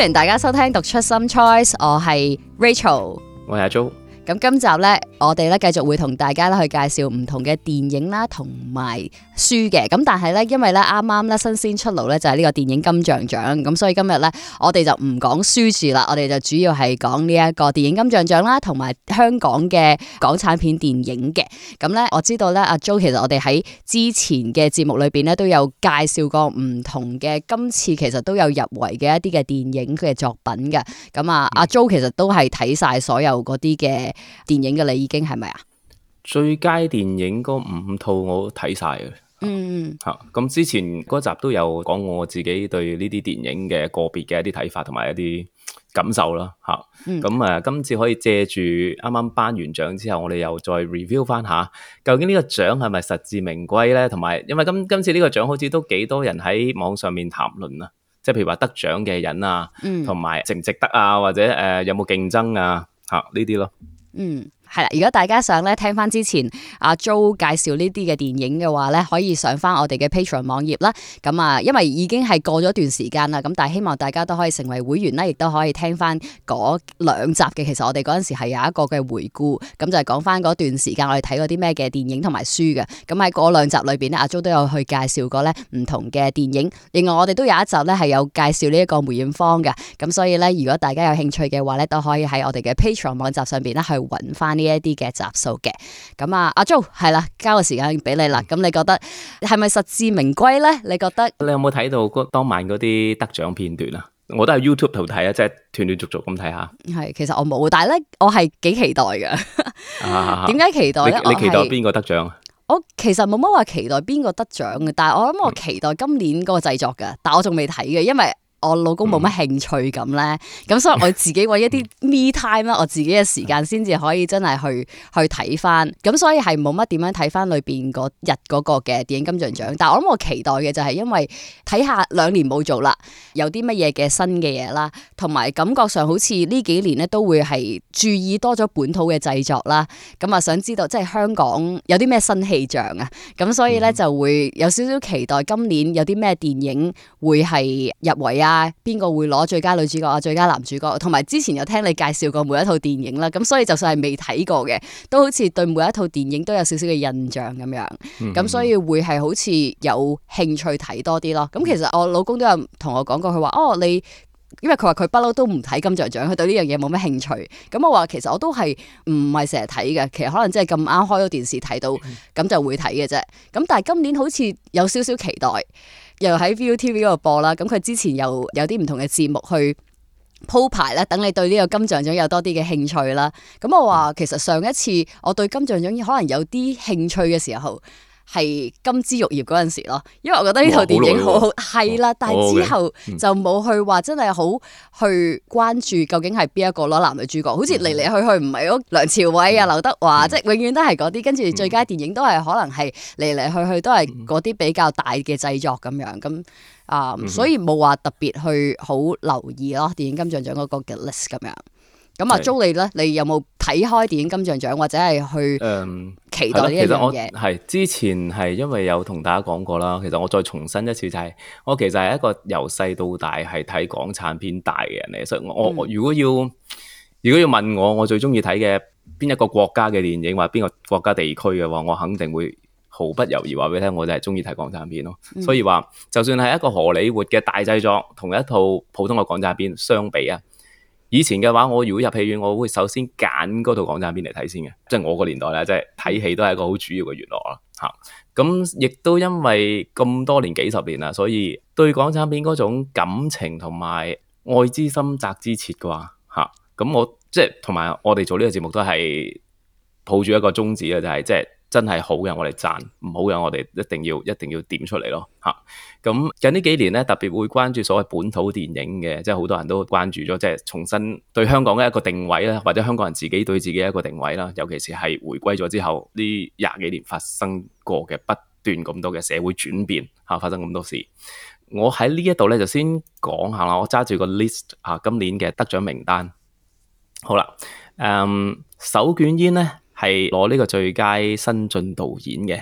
歡迎大家收聽讀出 Some Choice， 我係 Rachel， 我係阿 Jo。 咁今集呢，我哋咧繼續會同大家咧去介紹唔同嘅電影啦，同埋書嘅。咁但係咧，因為咧啱啱咧新鮮出爐咧就係呢個電影金像獎，咁所以今日咧我哋就唔講書住啦，我哋就主要係講呢一個電影金像獎啦，同埋香港嘅港產片電影嘅。咁咧我知道咧阿 Jo 其實我哋喺之前嘅節目裏邊咧都有介紹過唔同嘅，今次其實都有入圍嘅一啲嘅電影嘅作品嘅。咁阿 Jo 其實都係睇晒所有嗰啲嘅電影嘅，你已經係咪啊？ 最佳電影嗰5套我都睇晒嘅。咁之前嗰集都有講我自己對呢啲電影嘅個別嘅一啲睇法同埋一啲感受啦。今次可以借住啱啱頒完獎之後，我哋又再 review 翻下，究竟呢個獎係咪實至名歸咧？同埋因為今次呢個獎好似都幾多人喺網上面談論啊，即係譬如話得獎嘅人啊，同埋值唔值得啊，或者有冇競爭啊，呢啲咯。 係啦，如果大家想咧聽翻之前阿 Jo 介紹呢啲嘅電影嘅話咧，可以上翻我哋嘅 Patreon 網頁啦。咁因為已經係過咗一段時間啦，咁但係希望大家都可以成為會員啦，亦都可以聽翻嗰2集嘅。其實我哋嗰陣時係有一個嘅回顧，咁就係講翻嗰段時間我哋睇過啲咩嘅電影同埋書嘅。咁喺嗰2集裏邊咧，阿 Jo 都有去介紹過咧唔同嘅電影。另外我哋都有一集咧係有介紹呢一個梅艷芳嘅。咁所以咧，如果大家有興趣嘅話咧，都可以喺我哋嘅 Patreon 網站上邊咧去揾翻呢一啲嘅集數嘅。咁阿 Jo 係啦，交個時間俾你啦。咁你覺得係咪實至名歸咧？你覺得你有冇睇到當晚嗰啲得獎片段啊？我都喺 YouTube 度睇啊，即係斷斷續續咁睇下。係， 其實我冇，但係咧我係幾期待㗎。點解期待咧？ 你期待邊個得獎啊？ 我其實冇乜話期待邊個得獎嘅，但係我諗我期待今年嗰個製作㗎。但我仲未睇嘅，因為我老公冇乜興趣咁咧，咁所以我自己搵一啲 me time 啦，我自己嘅時間先至可以真係去睇翻，咁所以係冇乜點樣睇翻裏邊嗰日嗰個嘅電影金像獎。但係我諗我期待嘅就係因為睇下2年冇做啦，有啲乜嘢嘅新嘅嘢啦，同埋感覺上好似呢幾年咧都會係注意多咗本土嘅製作啦，咁想知道即係香港有啲咩新氣象啊，咁所以咧就會有少少期待今年有啲咩電影會係入圍啊。邊個會攞最佳女主角啊、最佳男主角？同埋之前有聽你介紹過每一套電影啦，咁所以就算係未睇過嘅，都好似對每一套電影都有少少嘅印象咁樣。咁所以會係好似有興趣睇多啲咯。咁其實我老公都有同我講過，佢話你因為佢話佢不嬲都唔睇金像獎，佢對呢樣嘢冇乜興趣。咁我話其實我都係唔係成日睇嘅，其實可能真係咁啱開咗電視睇到，咁就會睇嘅啫。咁但係今年好似有少少期待。又喺 ViuTV 嗰度播啦，咁佢之前又有啲唔同嘅節目去鋪排咧，等你對呢個金像獎有多啲嘅興趣啦。咁我話其實上一次我對金像獎可能有啲興趣嘅時候係金枝玉葉嗰陣時咯，因為我覺得呢套電影好好係啦，但係之後就冇去話真係好去關注究竟係邊一個攞男女主角，好似嚟嚟去去唔係嗰梁朝偉啊、劉德華，即係永遠都係嗰啲，跟住最佳電影都係可能係嚟嚟去去都係嗰啲比較大嘅製作咁樣咁所以冇話特別去好留意咯電影金像獎嗰個嘅 list 咁樣。咁阿 Jo 你咧，你有冇睇開電影金像獎或者係去期待呢一樣嘢？其實我係之前係因為有同大家講過啦，其實我再重申一次就係，我其實係一個由細到大係睇港產片大嘅人嚟，所以我如果要問我最中意睇嘅邊一個國家嘅電影或邊個國家地區嘅話，我肯定會毫不猶豫話俾你聽，我就係中意睇港產片咯。所以話就算係一個荷里活嘅大製作，同一套普通嘅港產片相比啊。以前嘅話，我如果入戲院，我會首先揀嗰套港產片嚟睇先嘅，即係我個年代咧，即係睇戲都係一個好主要嘅娛樂啦。咁亦都因為咁多年幾十年啦，所以對港產片嗰種感情同埋愛之深責之切嘅話，咁我即係同埋我哋做呢個節目都係抱住一個宗旨嘅，就係即係真係好嘅我哋讚，唔好嘅我哋一定要點出嚟咯。咁近呢幾年咧，特別會關注所謂本土電影嘅，即係好多人都關注咗，即係重新對香港嘅一個定位啦，或者香港人自己對自己一個定位啦。尤其是係回歸咗之後呢20幾年發生過嘅不斷咁多嘅社會轉變，發生咁多事。我喺呢一度咧就先講下啦，我揸住個 list 今年嘅得獎名單。好啦，手捲煙咧係攞呢個最佳新晉導演嘅。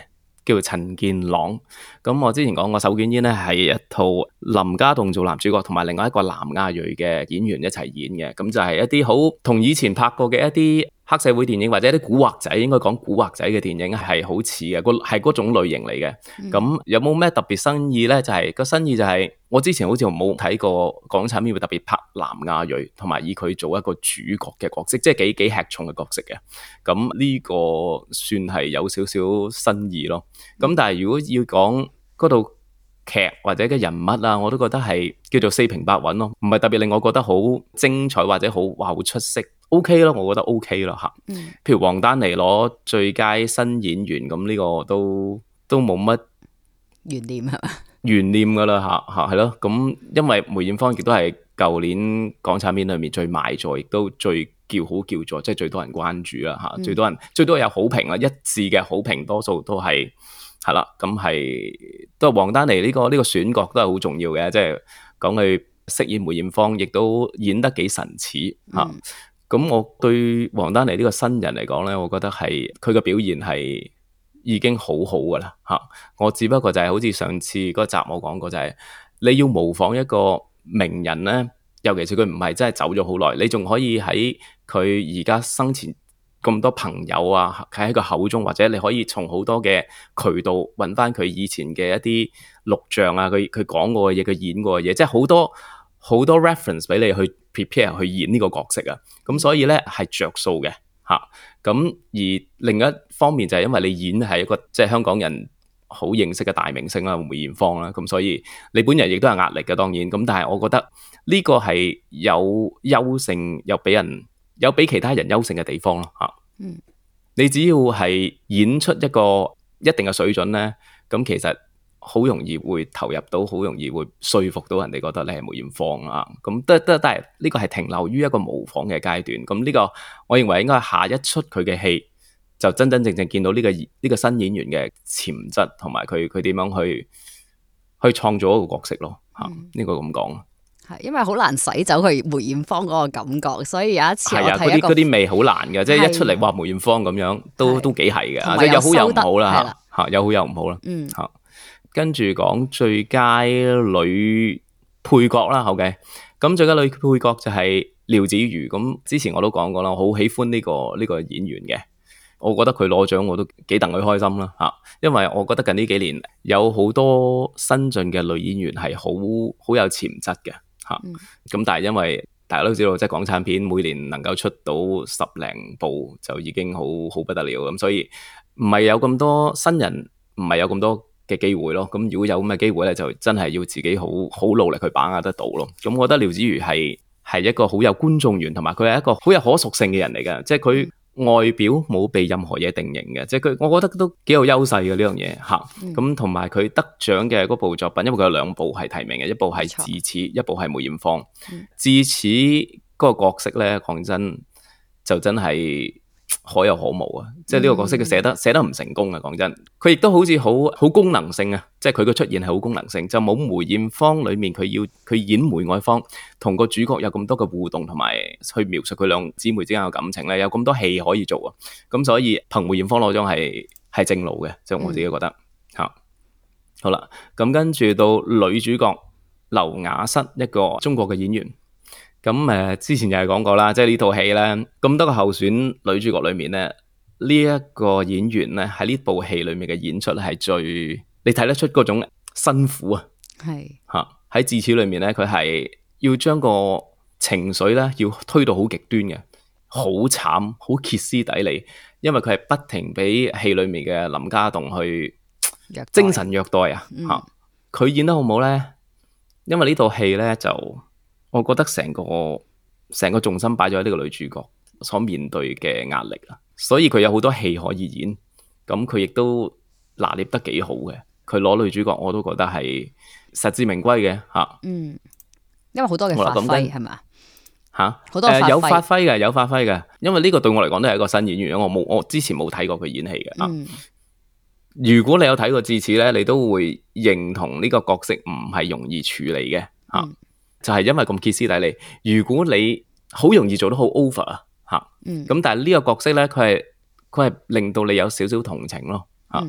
叫做陳健朗。咁我之前講過手捲煙咧係一套林家棟做男主角，同埋另外一個南亞裔嘅演員一齊演嘅。咁就係一啲好同以前拍過嘅一啲黑社會電影或者一啲古惑仔，應該講古惑仔嘅電影係好似嘅，係嗰種類型嚟嘅。咁有冇咩特別新意咧？就係個新意就係我之前好似冇睇過港產片會特別拍南亞裔，同埋以佢做一個主角嘅角色，即係幾吃重嘅角色嘅。咁呢個算係有少少新意咯。咁但係如果要講嗰套劇或者嘅人物啊，我都覺得係叫做四平八穩咯，唔係特別令我覺得好精彩或者好出色。OK 咯，我覺得 OK 咯吓。譬如王丹妮攞最佳新演員，咁呢個都冇乜懸念係嘛？懸念噶啦吓係咯。咁因為梅艷芳亦都係舊年港產片裏面最賣座，亦都最叫好叫座，即係最多人關注啦吓。最多有好評啦，一致嘅好評，多數都係啦。咁係都係王丹妮呢個選角都係好重要嘅，即係講佢飾演梅艷芳，亦都演得幾神似吓。咁我對王丹妮呢個新人嚟講咧，我覺得係佢嘅表現係已經好好噶啦吓。我只不過就係好似上次嗰集我講過，就係你要模仿一個名人咧，尤其是佢唔係真係走咗好耐，你仲可以喺佢而家生前咁多朋友啊，喺佢口中，或者你可以從好多嘅渠道揾翻佢以前嘅一啲錄像啊，佢講過嘅嘢，佢演過嘅嘢，即係好多 reference 俾你去 prepare 去演呢個角色啊。咁所以咧係着數嘅吓。咁而另一方面就係因為你演係一個即係香港人好認識嘅大明星啦，梅艷芳啦，咁所以你本人亦都有壓力嘅，當然。咁但係我覺得呢個係有優勝，有比其他人優勝嘅地方咯吓。你只要係演出一個一定嘅水準咧，咁其實好容易會投入到，好容易會說服到人哋覺得你係梅艷芳啊。咁但係呢個係停留於一個模仿嘅階段。咁呢個我認為應該係下一出佢嘅戲就真真正正見到呢個新演員嘅潛質，同埋佢點樣去創造一個角色咯吓。呢個咁講。係因為好難洗走佢梅艷芳嗰個感覺，所以有一次我睇嗰啲味好難嘅，即係一出嚟話梅艷芳咁樣都幾係嘅，即係有好有唔好啦吓，有好有唔好啦吓。跟住講最佳女配角啦，OK，咁最佳女配角就係廖子妤。咁之前我都講過啦，我好喜歡呢個演員嘅，我覺得佢攞獎我都幾戥佢開心啦吓，因為我覺得近呢幾年有好多新進嘅女演員係好有潛質嘅吓。咁但係因為大家都知道，即係港產片每年能夠出到10零部就已經好不得了，咁所以唔係有咁多新人，唔係有咁多嘅機會咯。咁如果有咁嘅機會咧，就真係要自己好努力去把握得到咯。咁我覺得廖子妤係一個好有觀眾緣，同埋佢係一個好有可塑性嘅人嚟嘅，即係佢外表冇被任何嘢定型嘅，即係佢我覺得都幾有優勢嘅呢樣嘢吓。咁同埋佢得獎嘅嗰部作品，因為佢有2部係提名嘅，一部係智齒，一部係梅艷芳。智齒嗰個角色咧，講真就真係可有可無啊！即係呢個角色佢寫得唔成功啊！講真，佢亦都好似好功能性啊！即係佢嘅出現係好功能性，就冇梅艷芳裏面佢演梅愛芳同個主角有咁多嘅互動，同埋去描述佢兩姊妹之間嘅感情咧，有咁多戲可以做啊！咁所以憑梅艷芳攞獎係正路嘅，即係我自己覺得吓。好啦，咁跟住到女主角劉雅瑟，一個中國嘅演員。咁之前又係講過啦，即係呢套戲咧，咁多個候選女主角裏面咧，呢一個演員咧喺呢部戲裏面嘅演出咧係最你睇得出嗰種辛苦啊。係吓喺智齒裏面咧，佢係要將個情緒咧要推到好極端嘅，好慘，好歇斯底里，因為佢係不停俾戲裏面嘅林家棟去精神虐待啊。吓佢演得好唔好咧？因為呢套戲咧就。我覺得成個重心擺咗喺呢個女主角所面對嘅壓力啊，所以佢有好多戲可以演，咁佢亦都拿捏得幾好嘅。佢攞女主角我都覺得係實至名歸嘅吓。因為好多嘅發揮係咪吓？好多有發揮嘅，因為呢個對我嚟講都係一個新演員，我之前冇睇過佢演戲嘅。如果你有睇過智齒咧，你都會認同呢個角色唔係容易處理嘅吓。就係因為咁歇斯底里，如果你好容易做得好 over 啊，咁但係呢個角色咧，佢係令到你有少少同情咯，更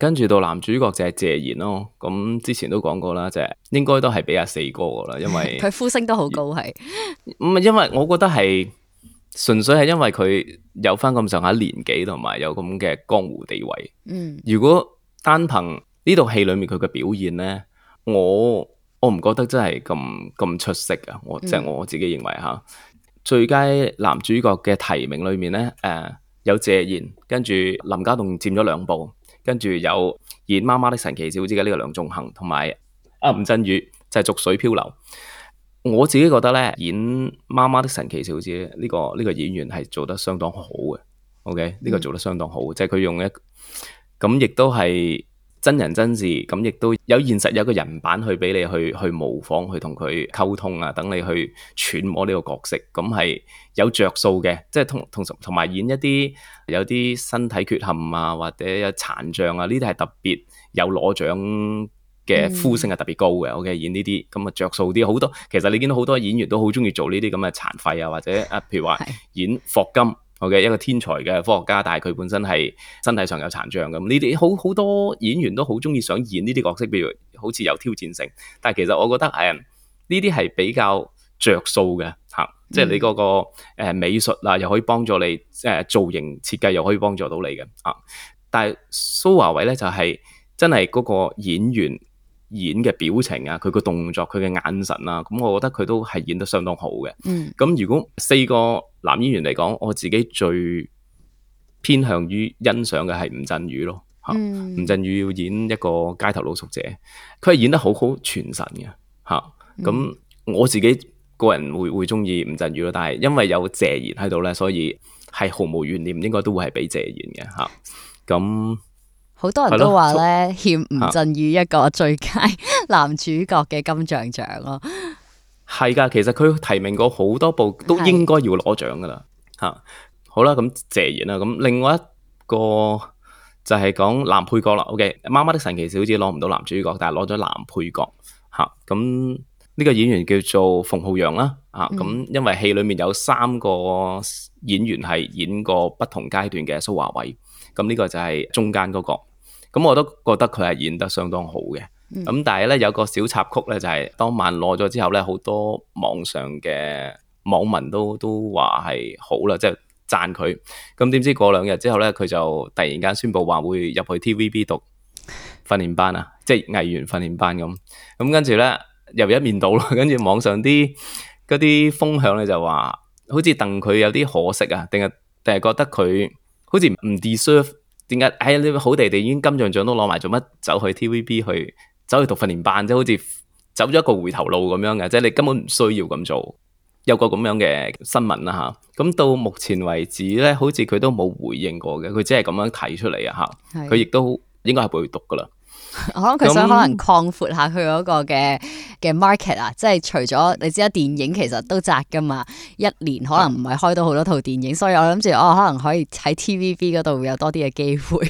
跟住到男主角就係謝賢咯。咁之前都講過啦，就係應該都係俾阿四哥噶啦，因為佢呼聲都好高係。 唔係因為我覺得係純粹係因為佢有翻咁上下年紀同埋有咁嘅江湖地位。如果單憑呢套戲裏面佢嘅表現咧，我唔覺得真係咁出色啊！即係我自己認為吓，最佳男主角嘅提名裏面咧，有謝賢，跟住林家棟佔咗2部，跟住有演媽媽的神奇小子嘅呢個梁仲恒，同埋吳鎮宇就係、是、濁水漂流。我自己覺得咧，演媽媽的神奇小子呢個演員係做得相當好嘅。OK， 呢個做得相當好，即係佢用咁亦都係真人真事，咁亦都有現實有一個人版去俾你去模仿，去同佢溝通啊，等你去揣摩呢個角色，咁係有着數嘅。即係同埋演一啲有啲身體缺陷啊，或者有殘障啊，呢啲係特別有攞獎嘅呼聲係特別高嘅。OK， 演呢啲咁啊着數啲，好多其實你見到好多演員都好中意做呢啲咁嘅殘廢啊，或者譬如話演霍金。嘅一個天才嘅科學家，但係佢本身係身體上有殘障咁，呢啲好多演員都好中意想演呢啲角色，譬如好似有挑戰性。但係其實我覺得呢啲係比較着數嘅嚇，即係你嗰個美術啊，又可以幫助你造型設計，又可以幫助到你嘅啊。但係蘇華偉咧就係真係嗰個演員演嘅表情啊，佢個動作，佢嘅眼神啊，咁我覺得佢都係演得相當好嘅。咁如果4個男演員嚟講，我自己最偏向於欣賞嘅係吳鎮宇咯。吳鎮宇要演一個街頭露宿者，佢係演得好傳神嘅嚇。咁我自己個人會中意吳鎮宇咯，但係因為有謝賢喺度咧，所以係毫無懸念，應該都會係俾謝賢嘅嚇。咁好多人都話咧，欠吳鎮宇一個最佳男主角嘅金像獎咯。 係噶，其實佢提名過好多部，都應該要攞獎噶啦。吓，好啦，咁謝賢啦，咁另外一個就係講男配角啦。OK，媽媽的神奇小子攞唔到男主角，但係攞咗男配角。吓，咁呢個演員叫做馮浩陽啦。咁因為戲裏面有3個演員係演過不同階段嘅蘇華偉，咁呢個就係中間嗰個。咁我都覺得佢係演得相當好嘅。咁但係咧有個小插曲咧，就係當晚攞咗之後咧，好多網上嘅網民都話係好啦，即係讚佢。咁點知過2日之後咧，佢就突然間宣布話會入去 TVB 讀訓練班啊，即係藝員訓練班咁。咁跟住咧又一面倒咯，跟住網上啲嗰啲風向咧就話，好似戥佢有啲可惜啊，定係覺得佢好似唔 deserve。點解？你好地地已經金像獎都攞埋，做乜走去 TVB 走去讀訓練班，即係好似走咗一個回頭路咁樣嘅，即係你根本唔需要咁做。有個咁樣嘅新聞啦吓，咁到目前為止咧，好似佢都冇回應過嘅，佢只係咁樣提出嚟啊吓，佢亦都應該係會讀噶啦。 可能佢想可能擴闊下佢嗰個嘅 market 啊，即係除咗你知啦，電影其實都窄噶嘛，一年可能唔係開到好多套電影，所以我諗住可能可以喺 TVB 嗰度會有多啲嘅機會。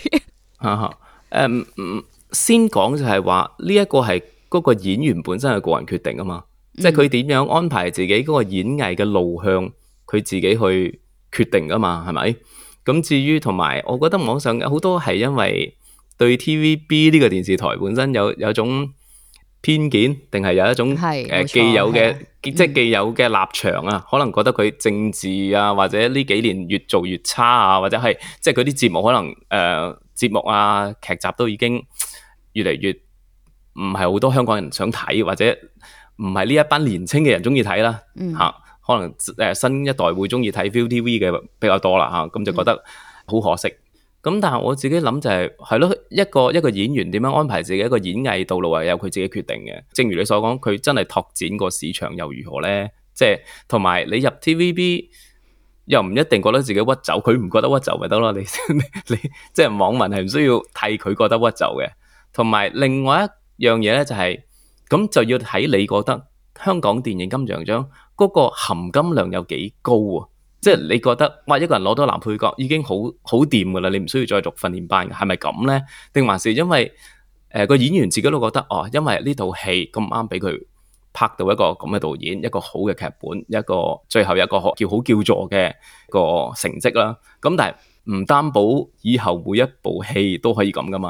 先講就係話呢一個係嗰個演員本身嘅個人決定啊嘛，即係佢點樣安排自己嗰個演藝嘅路向，佢自己去決定噶嘛，係咪？咁至於同埋，我覺得網上好多係因為對 TVB 呢個電視台本身有一種偏見，定係有一種既有嘅即係既有嘅立場啊，可能覺得佢政治啊，或者呢幾年越做越差啊，或者係即係佢啲節目可能節目啊劇集都已經越嚟越唔係好多香港人想睇，或者唔係呢一班年青嘅人中意睇啦吓，可能新一代會中意睇 ViuTV 嘅比較多啦吓，咁就覺得好可惜。咁但係我自己諗就係咯，一個演員點樣安排自己一個演藝道路係有佢自己決定嘅。正如你所講，佢真係拓展個市場又如何咧？即係同埋你入 TVB 又唔一定覺得自己屈就，佢唔覺得屈就咪得咯？你即係網民係唔需要替佢覺得屈就嘅。同埋另外一樣嘢咧就係，咁就要睇你覺得香港電影金像獎嗰個含金量有幾高啊？即係你覺得，哇！一個人攞到男配角已經好掂噶啦，你唔需要再讀訓練班嘅，係咪咁咧？定還是因為個演員自己都覺得，因為呢套戲咁啱俾佢拍到一個咁嘅導演，一個好嘅劇本，一個最後一個叫好叫座嘅個成績啦。咁但係唔擔保以後每一部戲都可以咁噶嘛，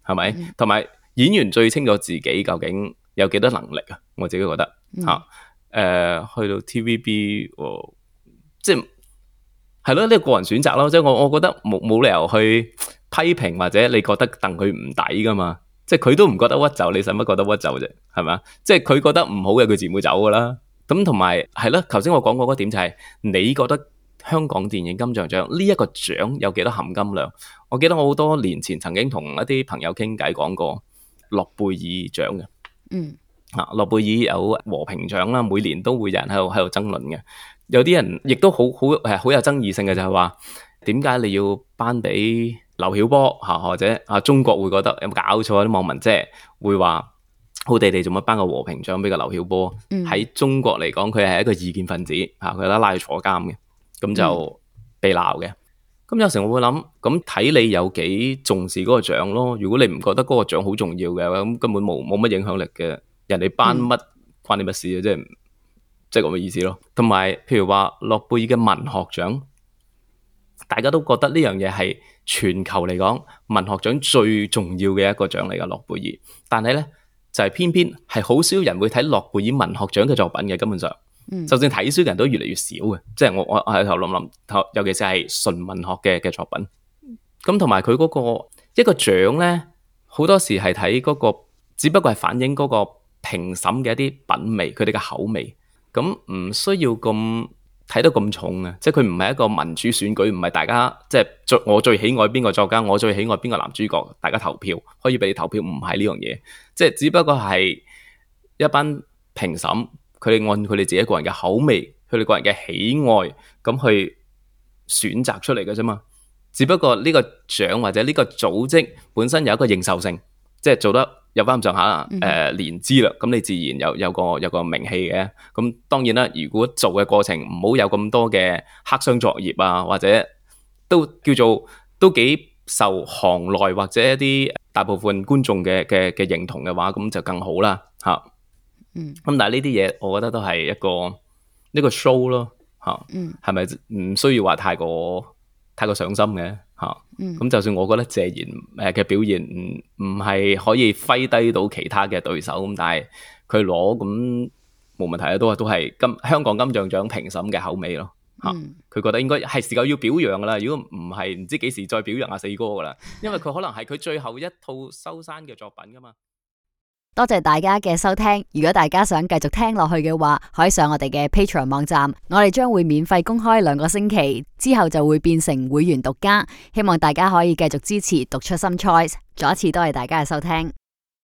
係咪？同埋演員最清楚自己究竟有幾多能力啊！我自己覺得嚇，去到 TVB，即係咯，呢個個人選擇咯。即係我覺得冇理由去批評或者你覺得戥佢唔抵噶嘛。即係佢都唔覺得屈就，你使乜覺得屈就啫？係咪？即係佢覺得唔好嘅，佢自然會走噶啦。咁同埋係咯，頭先我講過嗰點就係，你覺得香港電影金像獎呢一個獎有幾多含金量？我記得我好多年前曾經同一啲朋友傾偈講過諾貝爾獎嘅。諾貝爾有和平獎啦，每年都會有人喺度爭論嘅。有啲人亦都好有爭議性嘅，就係話點解你要頒俾劉曉波嚇，或者中國會覺得有冇搞錯啊？啲網民即係會話好地地做乜頒個和平獎俾個劉曉波？喺中國嚟講，佢係一個異見分子嚇，佢拉去坐監嘅，咁就被鬧嘅。咁有時我會諗，咁睇你有幾重視嗰個獎咯。如果你唔覺得嗰個獎好重要嘅，咁根本冇乜影響力嘅，人哋頒乜關你乜事啊？即係咁嘅意思咯。同埋譬如話諾貝爾嘅文學獎，大家都覺得呢樣嘢係全球嚟講文學獎最重要嘅一個獎嚟噶，諾貝爾。但係咧就係偏偏係好少人會睇諾貝爾文學獎嘅作品嘅，根本上，就算睇書嘅人都越嚟越少嘅。即係我喺頭諗，尤其是係純文學嘅作品。咁同埋佢嗰個一個獎咧，好多時係睇嗰個，只不過係反映嗰個評審嘅一啲品味，佢哋嘅口味。咁唔需要咁睇得咁重啊！即係佢唔係一個民主選舉，唔係大家即係我最喜愛邊個作家，我最喜愛邊個男主角，大家投票可以俾你投票，唔係呢樣嘢。即係只不過係一班評審，佢哋按佢哋自己個人嘅口味，佢哋個人嘅喜愛咁去選擇出嚟嘅啫嘛。只不過呢個獎或者呢個組織本身有一個認受性，即係做得有翻咁上下年資啦，咁你自然有個名氣嘅。咁當然啦，如果做嘅過程唔好有咁多嘅黑箱作業啊，或者都叫做都幾受行內或者一啲大部分觀眾嘅認同嘅話，咁就更好啦嚇。咁但係呢啲嘢，我覺得都係一個 show 咯嚇，係咪唔需要話太過上心嘅嚇？咁就算我覺得謝賢嘅表現唔係可以揮低到其他嘅對手，咁但係佢攞咁冇問題啊，都係香港金像獎評審嘅口味咯嚇。佢覺得應該係時候要表揚噶啦，如果唔係唔知幾時再表揚阿四哥噶啦，因為佢可能係佢最後一套收山嘅作品噶嘛。 多謝大家嘅收聽，如果大家想繼續聽落去嘅話，可以上我哋嘅 Patreon 網站，我哋將會免費公開2個星期，之後就會變成會員獨家，希望大家可以繼續支持讀出 Some Choice。再一次多謝大家嘅收聽。